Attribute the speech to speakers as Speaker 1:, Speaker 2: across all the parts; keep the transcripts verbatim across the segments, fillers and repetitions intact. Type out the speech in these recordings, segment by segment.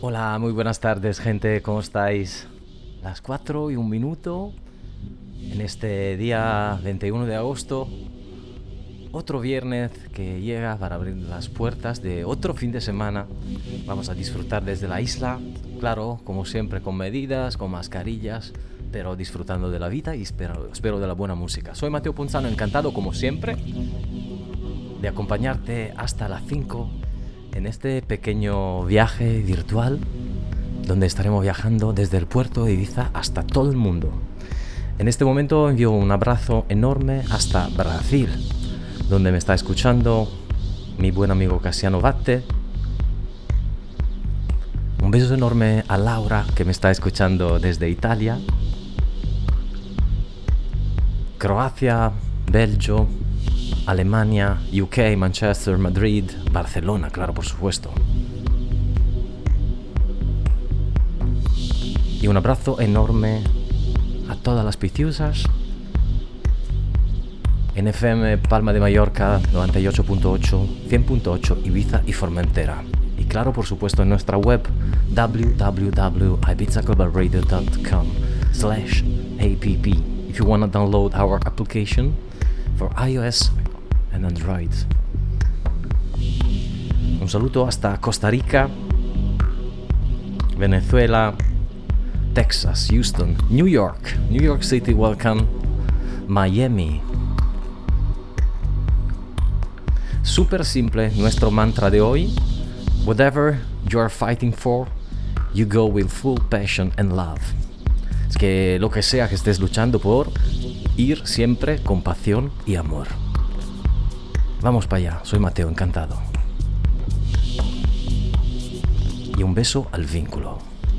Speaker 1: Hola, muy buenas tardes, gente, ¿cómo estáis? Las cuatro y un minuto en este día veintiuno de agosto, otro viernes que llega para abrir las puertas de otro fin de semana. Vamos a disfrutar desde la isla, claro, como siempre, con medidas, con mascarillas, pero disfrutando de la vida y espero, espero de la buena música. Soy Mateo Ponzano, encantado como siempre de acompañarte hasta las cinco en este pequeño viaje virtual donde estaremos viajando desde el puerto de Ibiza hasta todo el mundo. En este momento envío un abrazo enorme hasta Brasil, donde me está escuchando mi buen amigo Cassiano Vatte. Un beso enorme a Laura, que me está escuchando desde Italia. Croacia, Belgio, Alemania, U K, Manchester, Madrid, Barcelona, claro, por supuesto. Y un abrazo enorme a todas las piciusas en F M Palma de Mallorca noventa y ocho punto ocho, cien punto ocho Ibiza y Formentera. Y claro, por supuesto, en nuestra web w w w punto ibiza global radio punto com slash app if you want to download our application for iOS and Android. Un saludo hasta Costa Rica, Venezuela, Texas, Houston, New York, New York City, welcome, Miami. Súper simple nuestro mantra de hoy. Whatever you are fighting for, you go with full passion and love. Es que lo que sea que estés luchando por, ir siempre con pasión y amor. Vamos para allá, soy Mateo, encantado. Y un beso al vínculo.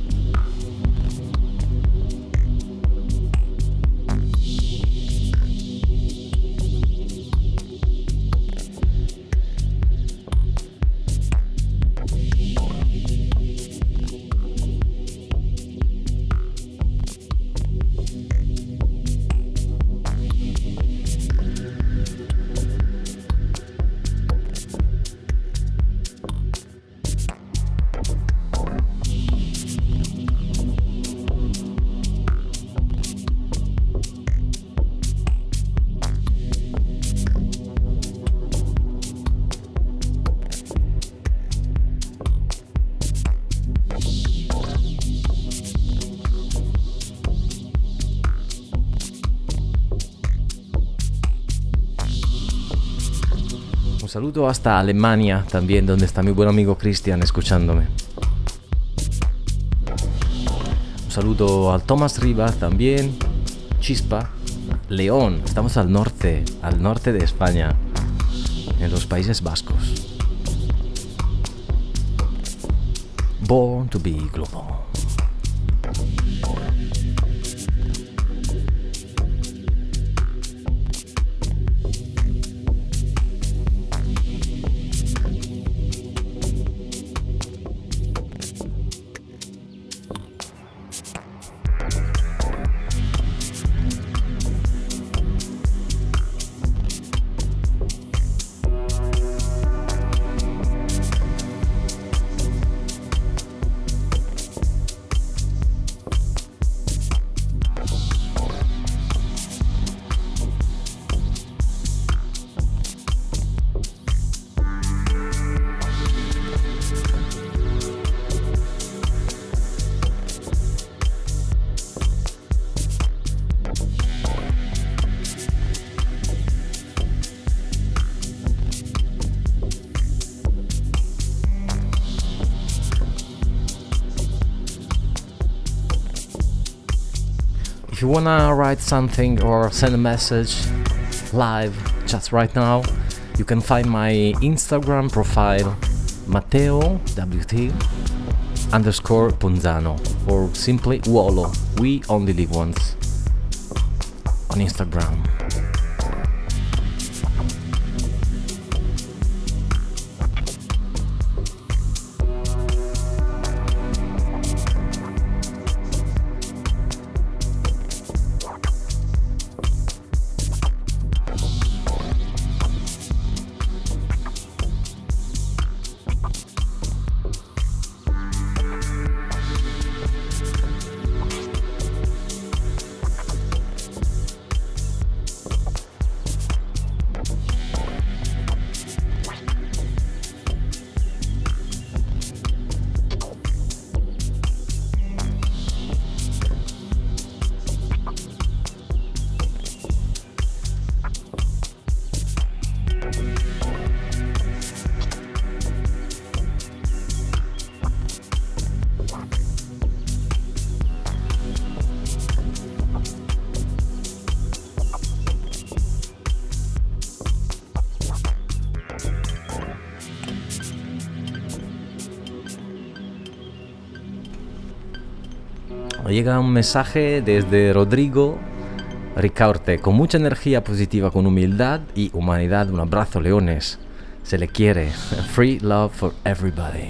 Speaker 1: Un saludo hasta Alemania también, donde está mi buen amigo Cristian escuchándome. Un saludo al Tomás Rivas también, Chispa, León, estamos al norte, al norte de España, en los Países Vascos. Born to be global. If you wanna write something or send a message live just right now, you can find my Instagram profile Matteo W T underscore Ponzano or simply Wolo, we only live once, on Instagram. llega un mensaje desde Rodrigo Ricaurte, con mucha energía positiva, con humildad y humanidad. Un abrazo, leones. Se le quiere. Free love for everybody.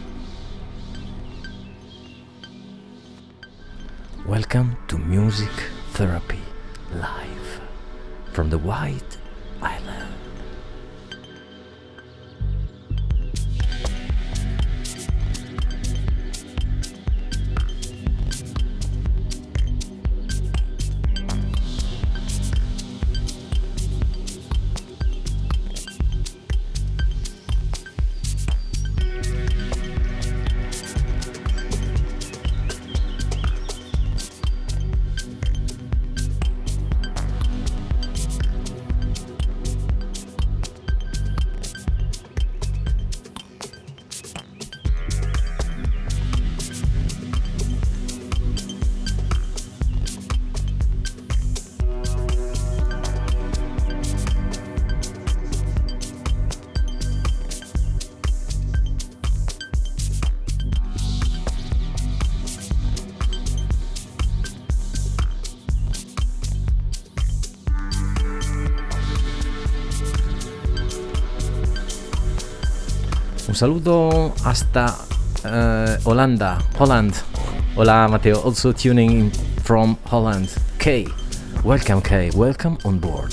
Speaker 1: Welcome to Music Therapy Live from the White Island. Un saludo hasta uh, Holanda, Holland. Hola Matteo, also tuning in from Holland. Kay, welcome Kay, welcome on board.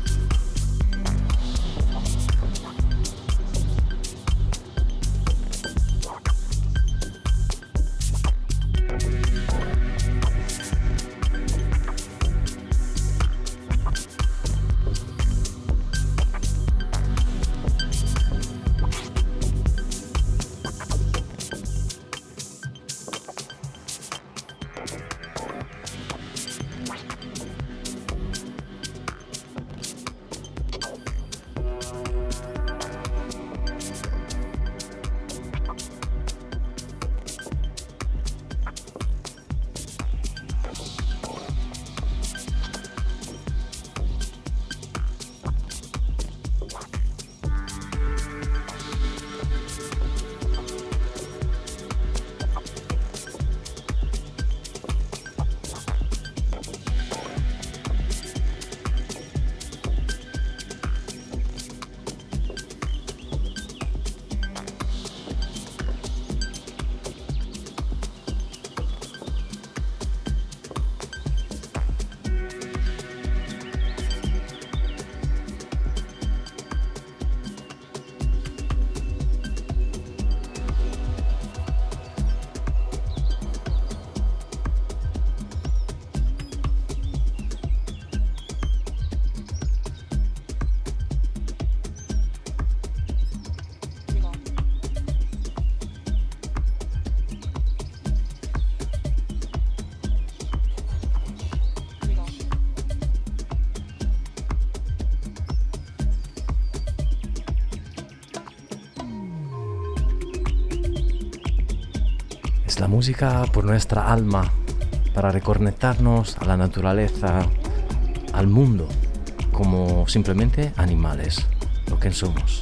Speaker 1: Es la música por nuestra alma, para reconectarnos a la naturaleza, al mundo, como simplemente animales, lo que somos.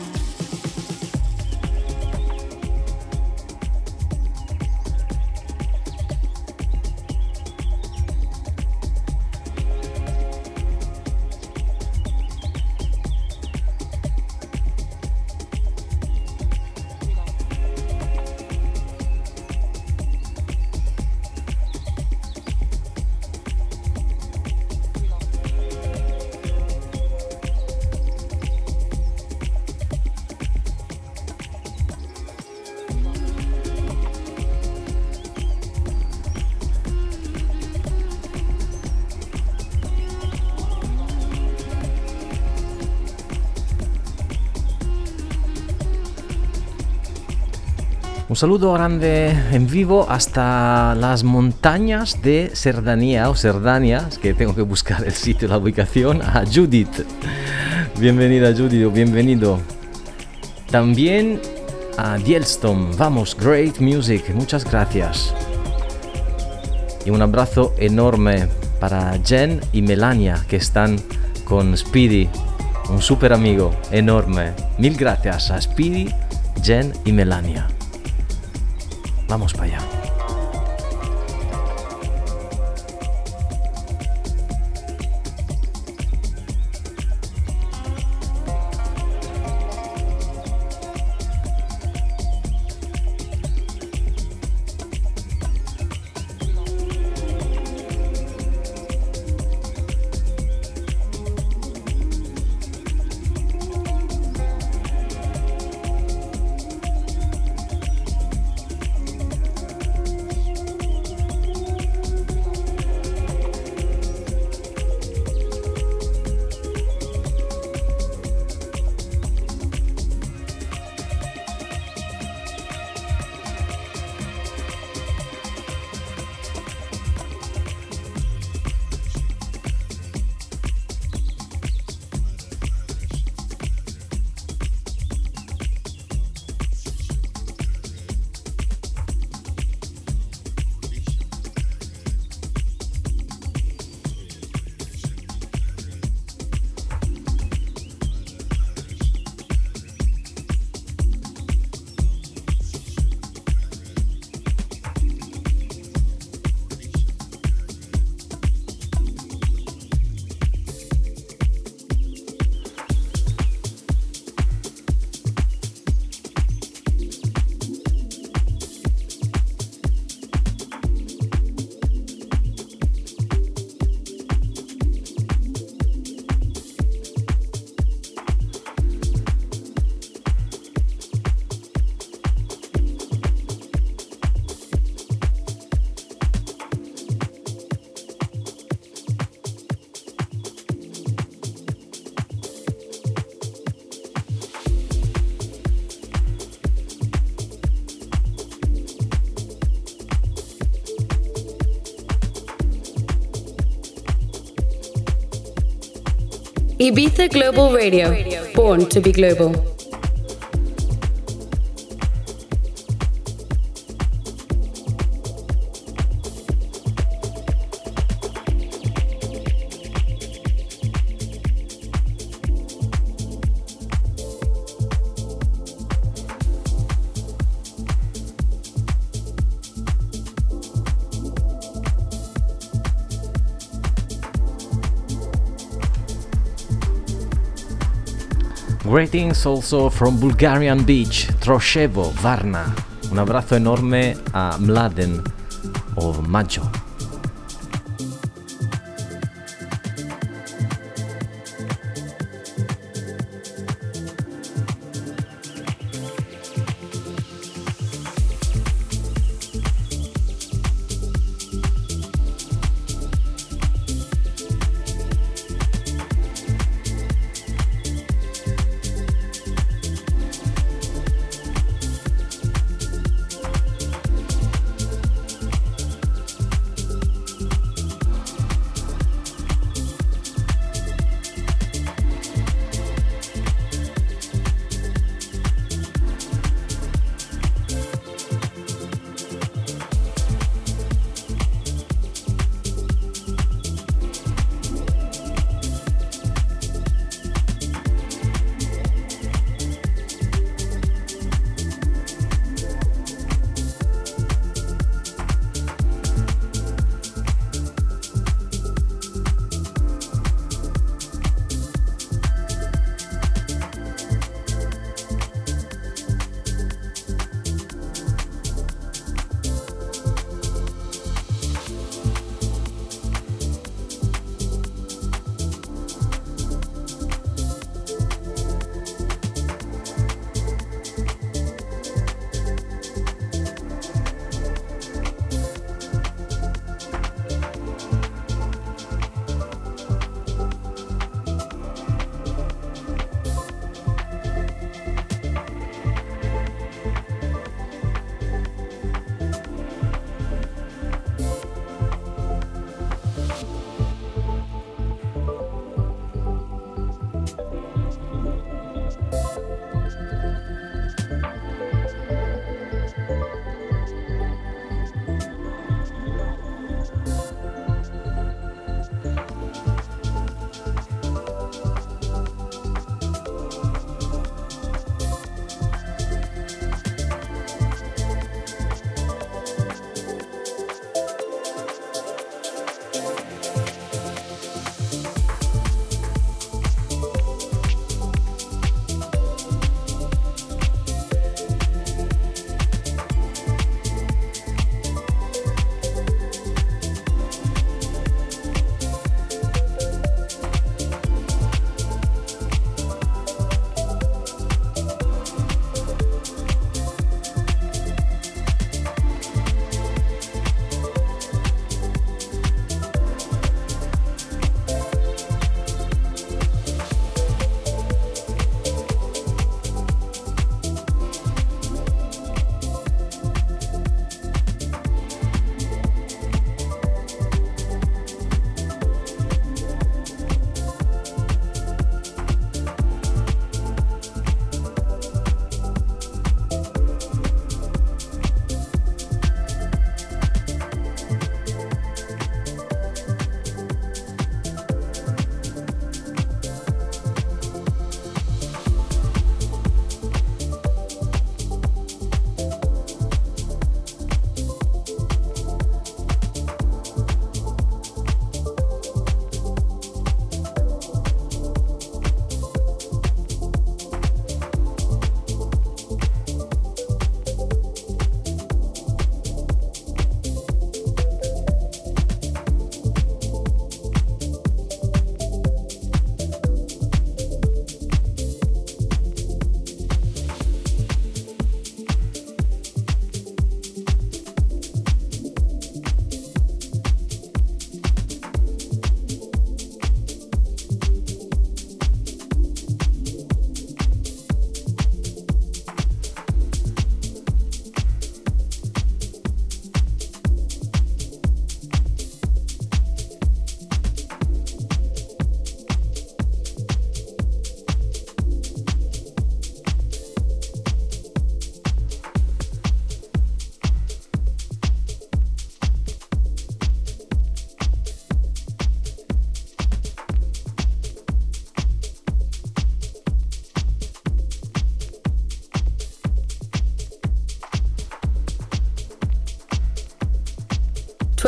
Speaker 1: Un saludo grande en vivo hasta las montañas de Cerdanía o Cerdania, es que tengo que buscar el sitio, la ubicación, a Judith. Bienvenida Judith o bienvenido. También a Dielstom, vamos, great music, muchas gracias. Y un abrazo enorme para Jen y Melania que están con Speedy, un super amigo enorme. Mil gracias a Speedy, Jen y Melania. Vamos para allá.
Speaker 2: Ibiza Global Radio, born to be global.
Speaker 1: Greetings also from Bulgarian Beach, Troševo, Varna. Un abrazo enorme a Mladen o Maggio.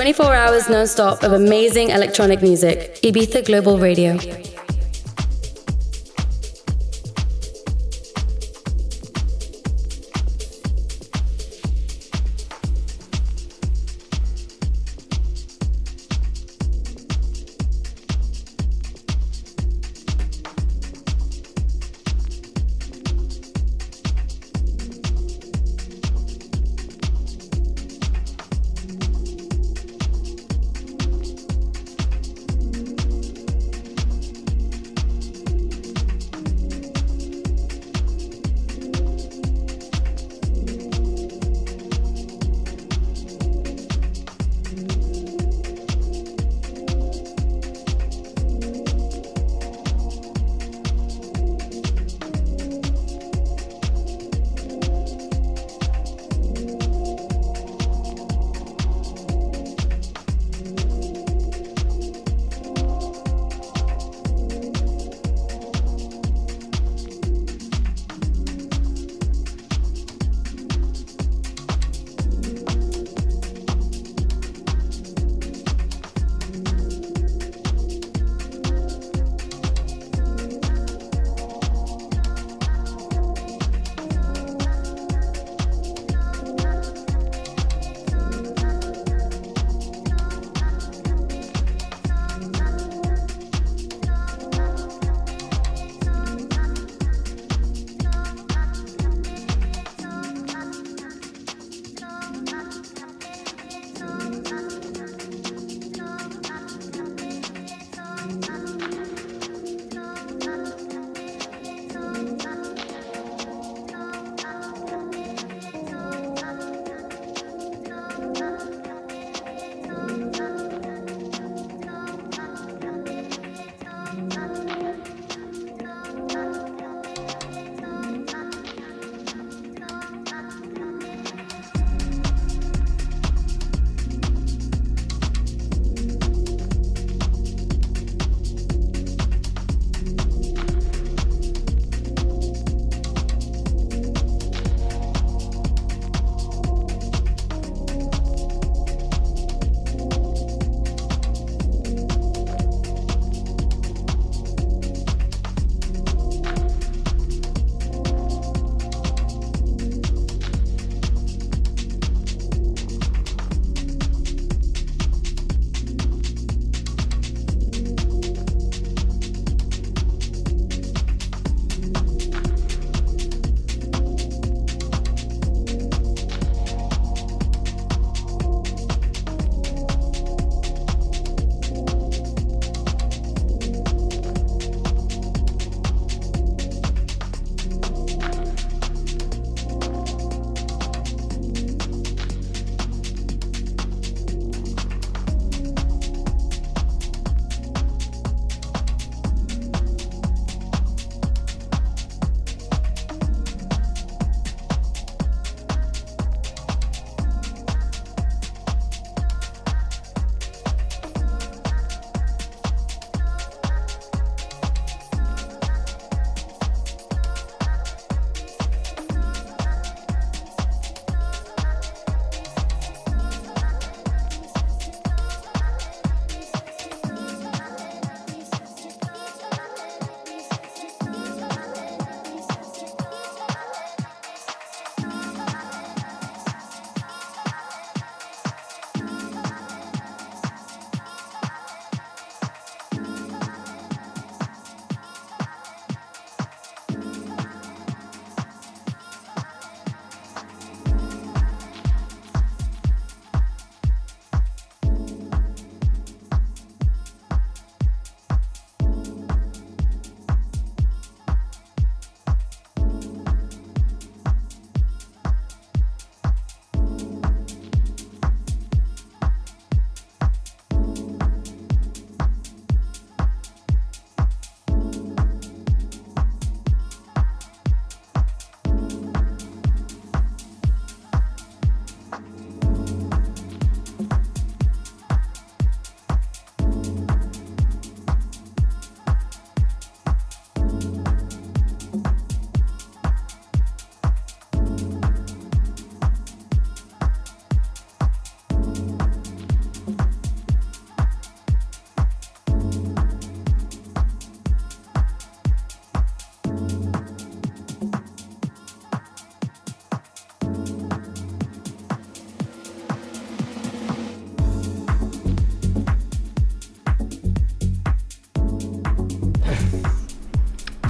Speaker 2: twenty-four hours non-stop of amazing electronic music. Ibiza Global Radio.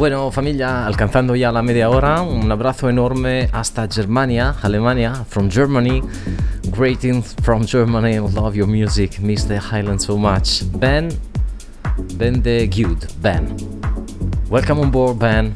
Speaker 1: Bueno, familia, alcanzando ya la media hora, un abrazo enorme hasta Germania, Alemania, from Germany. Greetings from Germany, love your music, miss the Highlands so much. Ben, Ben de Good, Ben. Welcome on board, Ben.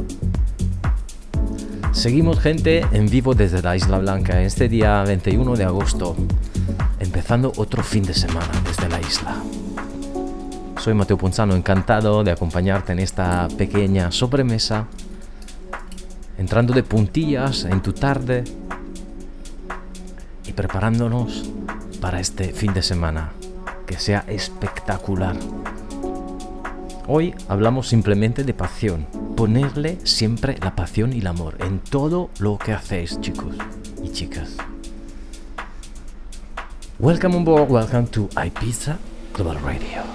Speaker 1: Seguimos, gente, en vivo desde la Isla Blanca, este día veintiuno de agosto, empezando otro fin de semana desde la isla. Soy Mateo Ponzano, encantado de acompañarte en esta pequeña sobremesa, entrando de puntillas en tu tarde y preparándonos para este fin de semana, que sea espectacular. Hoy hablamos simplemente de pasión, ponerle siempre la pasión y el amor en todo lo que hacéis, chicos y chicas. Welcome on board, welcome to Ibiza Global Radio.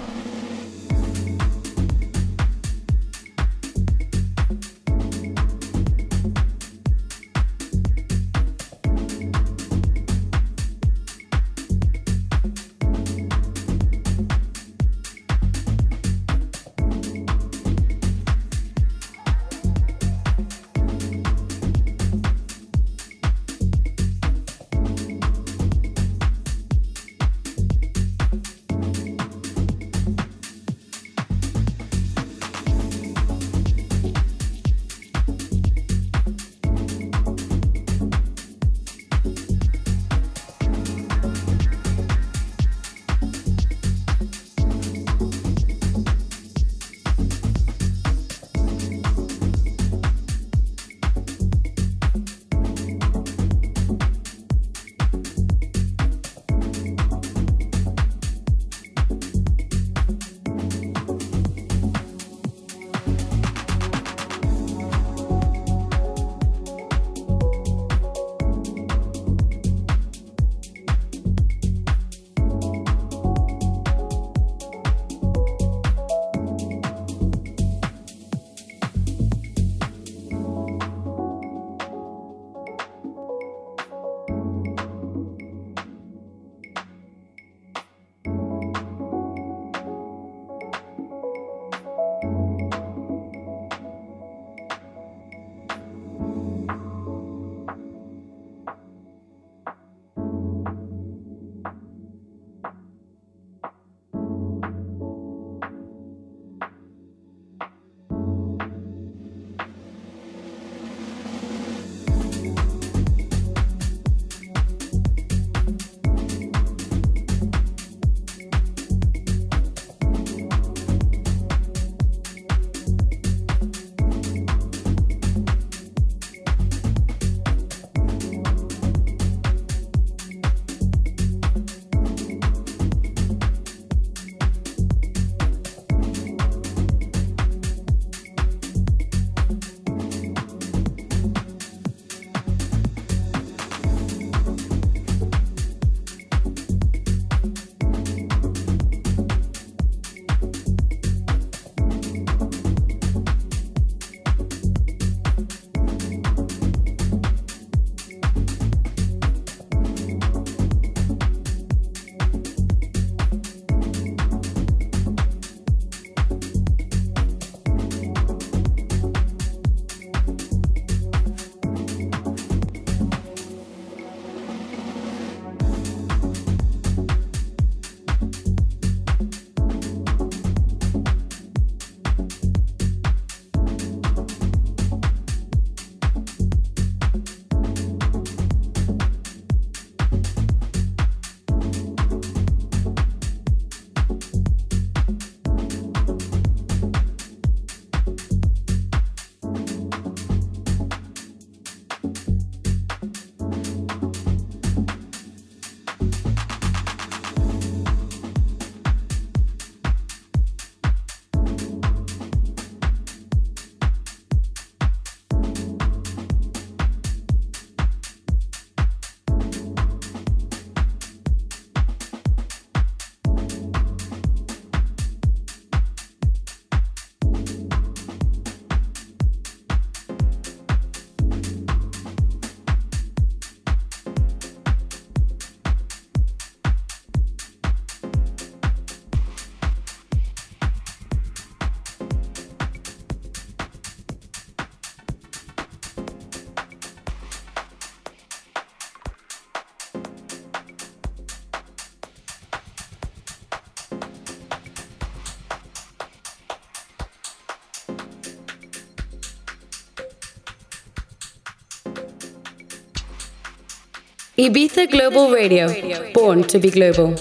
Speaker 2: Ibiza Global Radio, born to be global.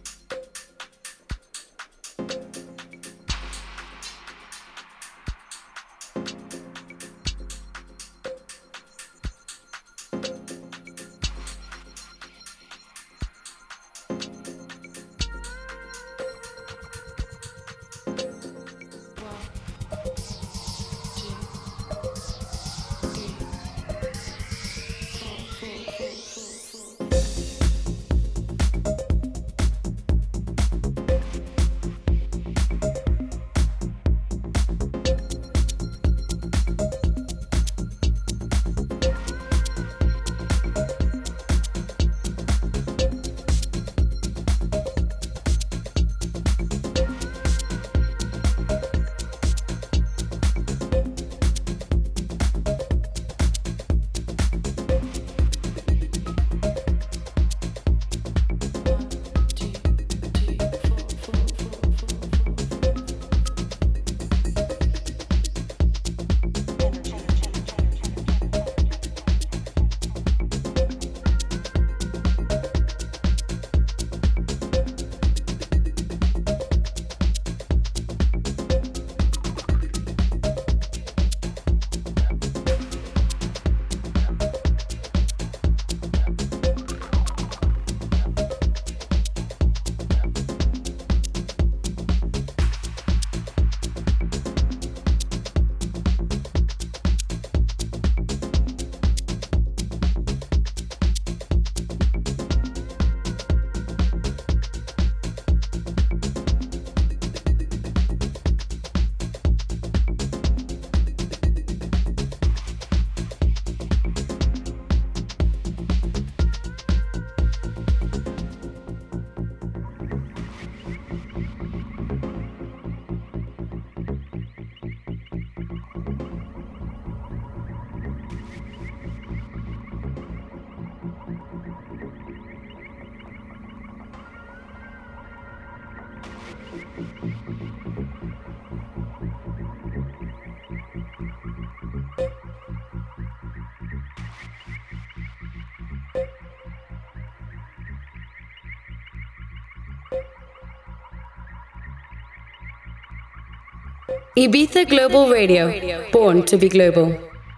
Speaker 2: Ibiza Global Radio, born to be global.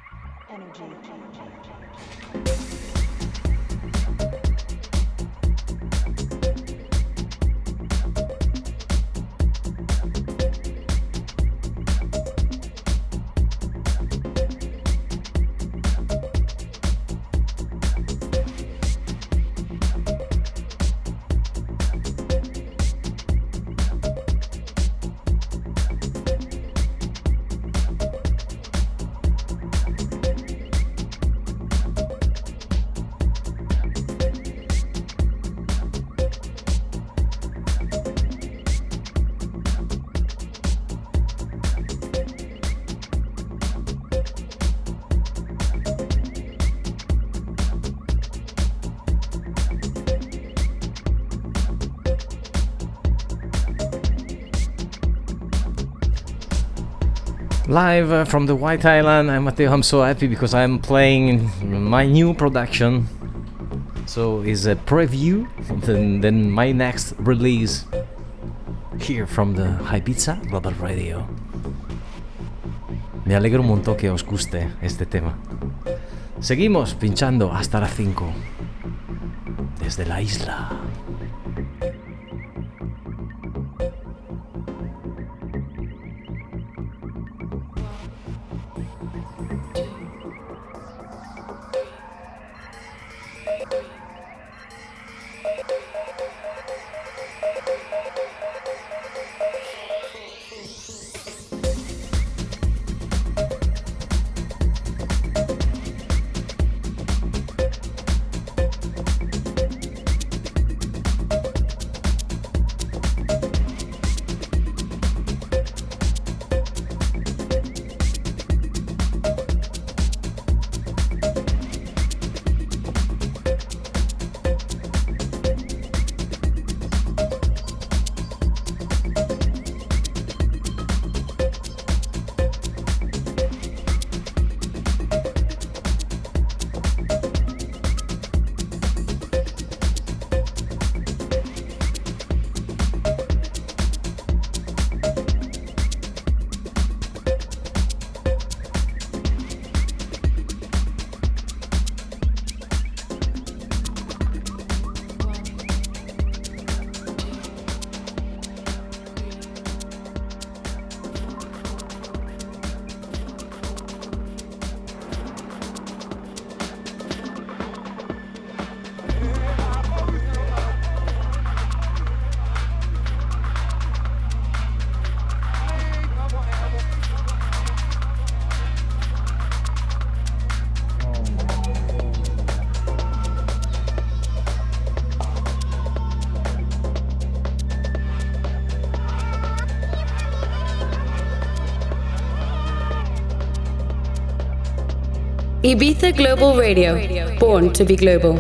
Speaker 1: Live uh, from the White Island, I'm Matteo. I'm so happy because I'm playing my new production. So it's a preview of the, then my next release here from the Ibiza Global Radio. Me alegro un montón que os guste este tema. Seguimos pinchando hasta las cinco desde la isla.
Speaker 2: Ibiza Global Radio, born to be global.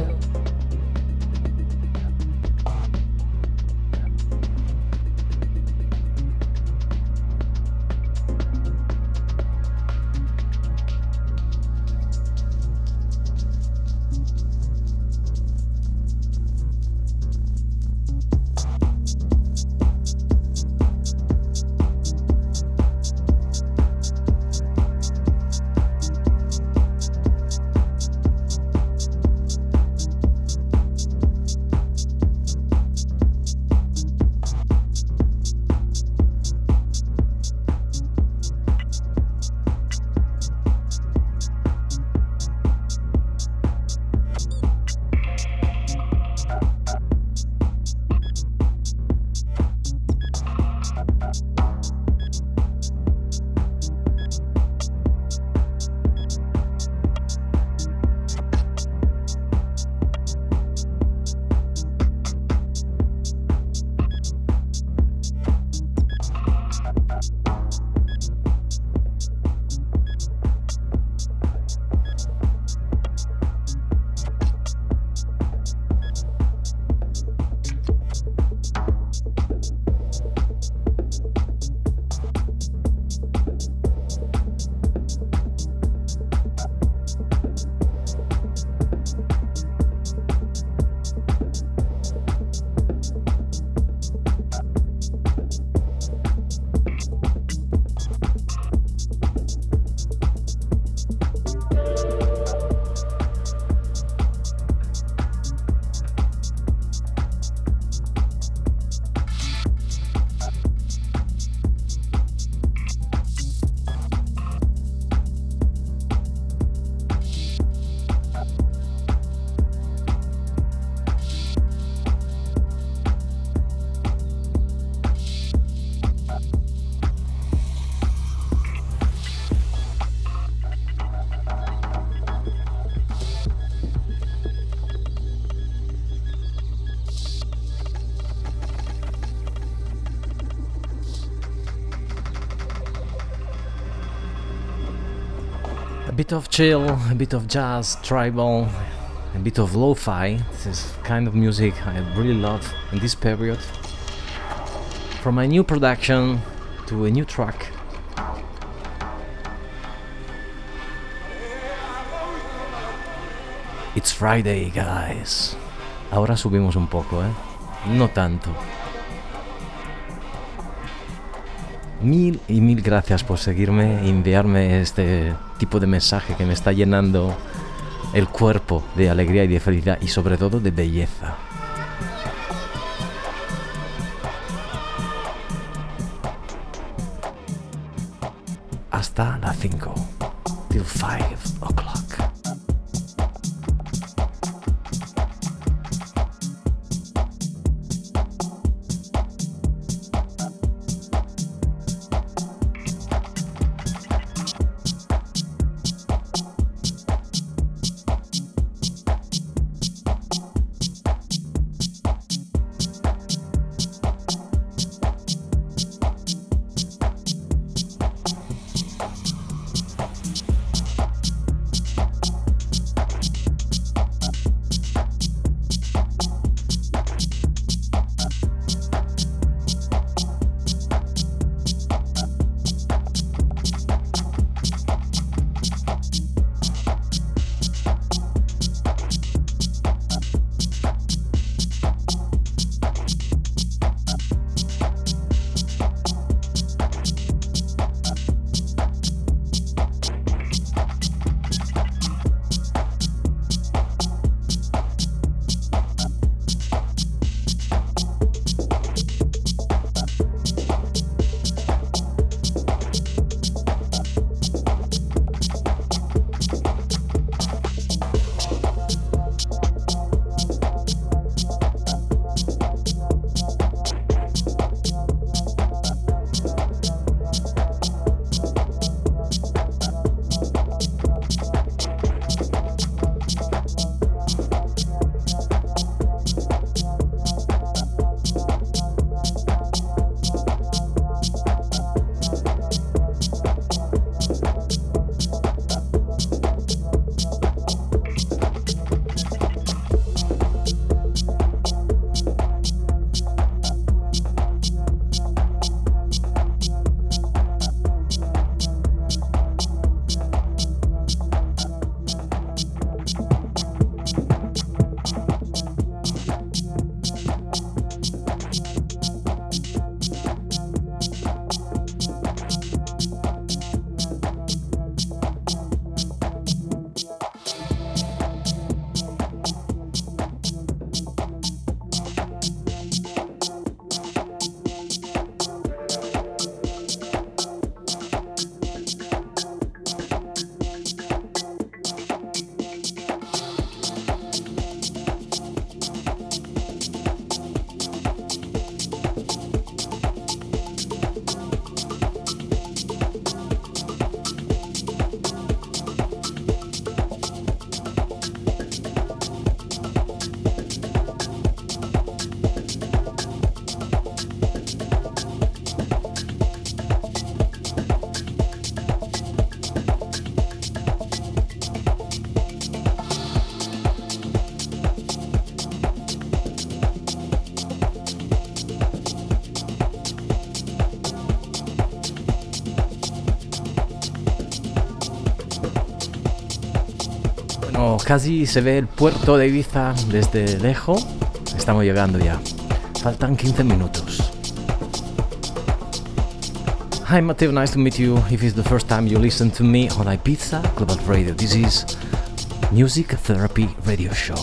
Speaker 1: A bit of chill, a bit of jazz, tribal, a bit of lo-fi. This is kind of music I really love in this period. From a new production to a new track. It's Friday, guys. Ahora subimos un poco, ¿eh? No tanto. Mil y mil gracias por seguirme y enviarme este tipo de mensaje que me está llenando el cuerpo de alegría y de felicidad y sobre todo de belleza. Hasta las cinco. Till five o'clock. casi se ve el puerto de Ibiza desde lejos. Estamos llegando ya. Faltan quince minutos. Hi Matteo, nice to meet you. If it's the first time you listen to me on Ibiza Global Radio, this is Music Therapy Radio Show.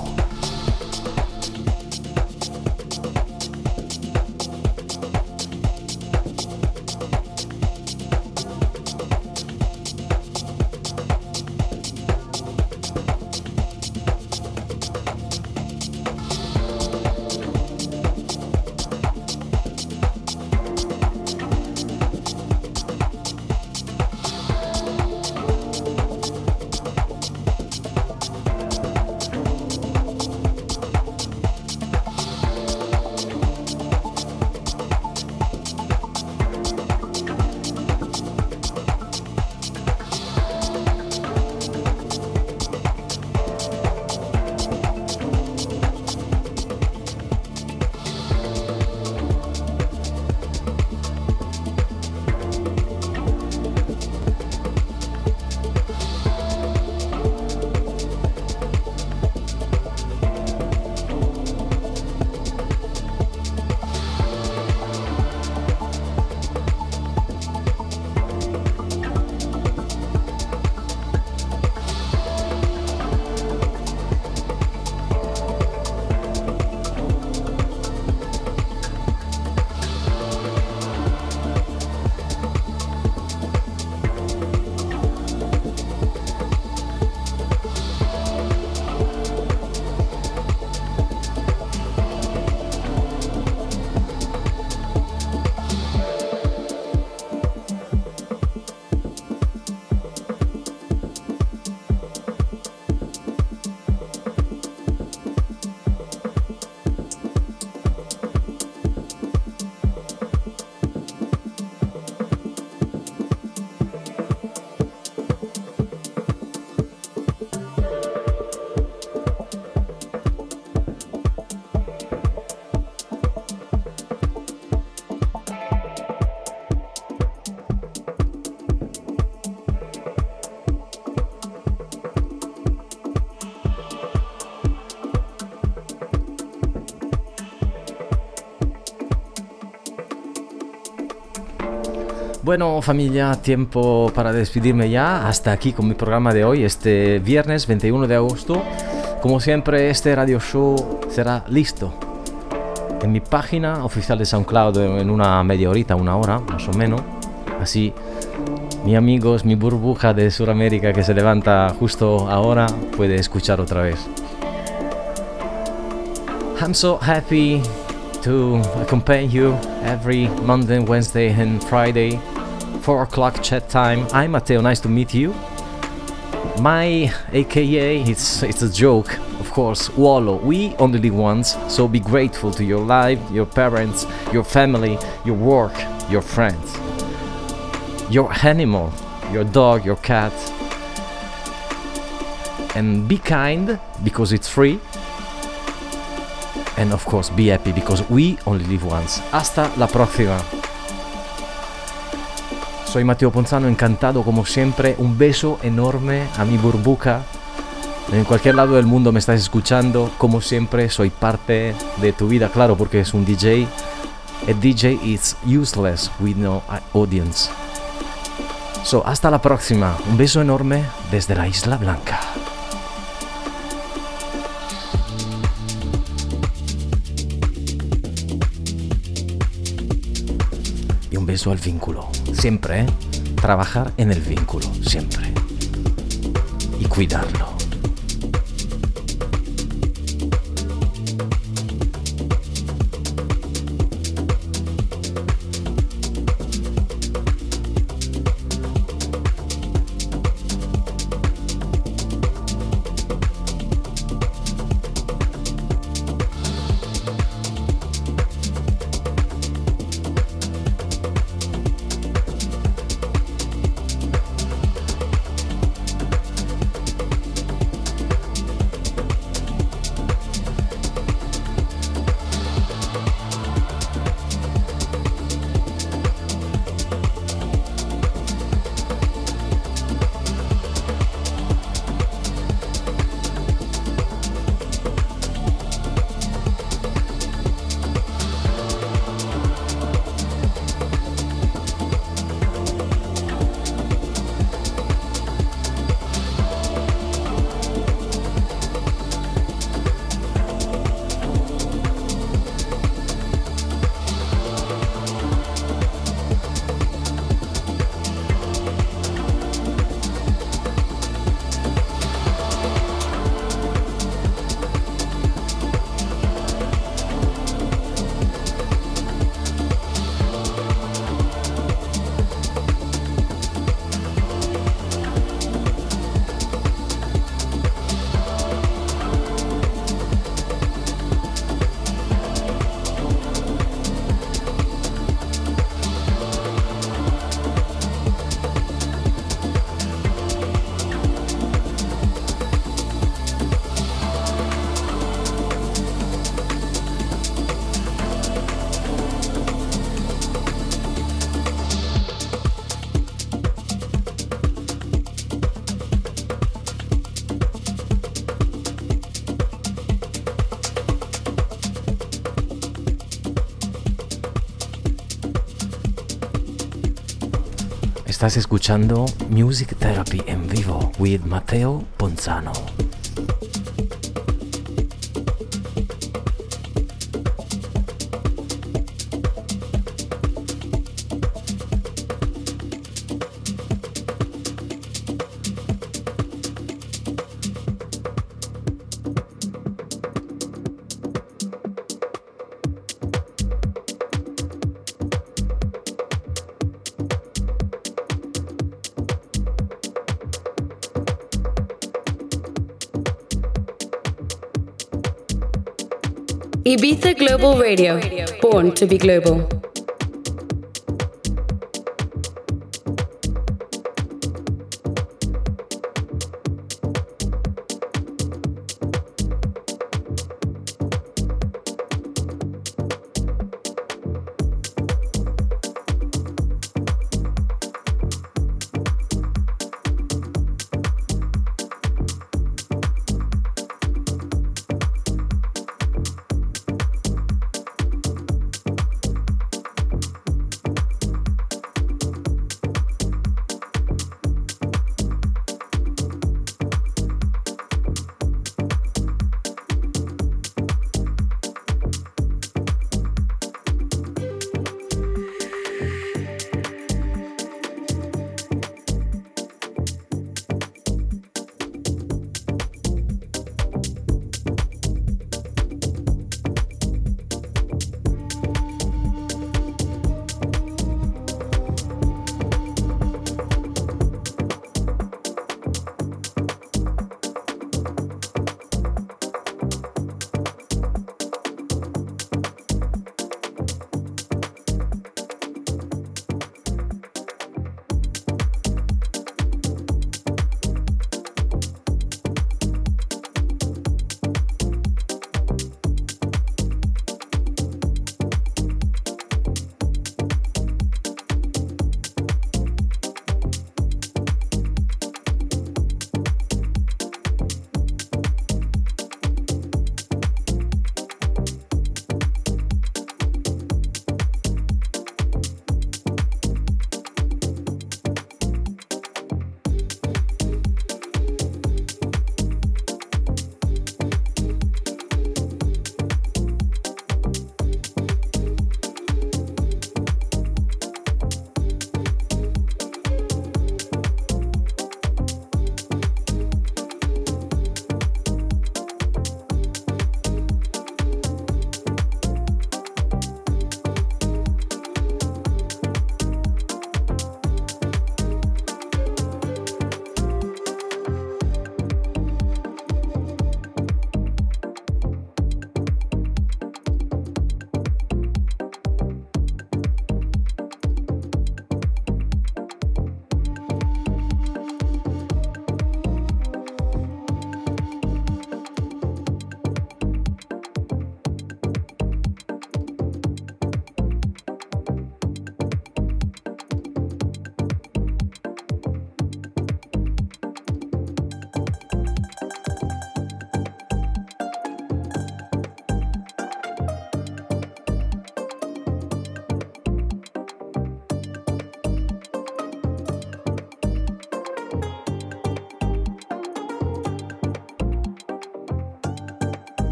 Speaker 1: Bueno, familia, tiempo para despedirme ya. Hasta aquí con mi programa de hoy, este viernes veintiuno de agosto. Como siempre, este radio show será listo en mi página oficial de SoundCloud en una media horita, una hora, más o menos. Así, mis amigos, mi burbuja de Sudamérica que se levanta justo ahora, puede escuchar otra vez. I'm so happy to accompany you every Monday, Wednesday and Friday, four o'clock chat time. I'm Matteo, nice to meet you. My A K A, it's, it's a joke, of course, Wallo. We only live once, so be grateful to your life, your parents, your family, your work, your friends, your animal, your dog, your cat. And be kind, because it's free. And of course, be happy, because we only live once. Hasta la próxima. Soy Matteo Ponzano, encantado como siempre. Un beso enorme a mi burbuja. En cualquier lado del mundo me estás escuchando. Como siempre, soy parte de tu vida, claro, porque es un D J. A D J is useless with no audience. So, hasta la próxima. Un beso enorme desde la Isla Blanca. Y un beso al vínculo. Siempre, ¿eh? Trabajar en el vínculo, siempre. Y cuidarlo. Estás escuchando Music Therapy en vivo with Matteo Ponzano.
Speaker 2: Ibiza Global Radio, born to be global.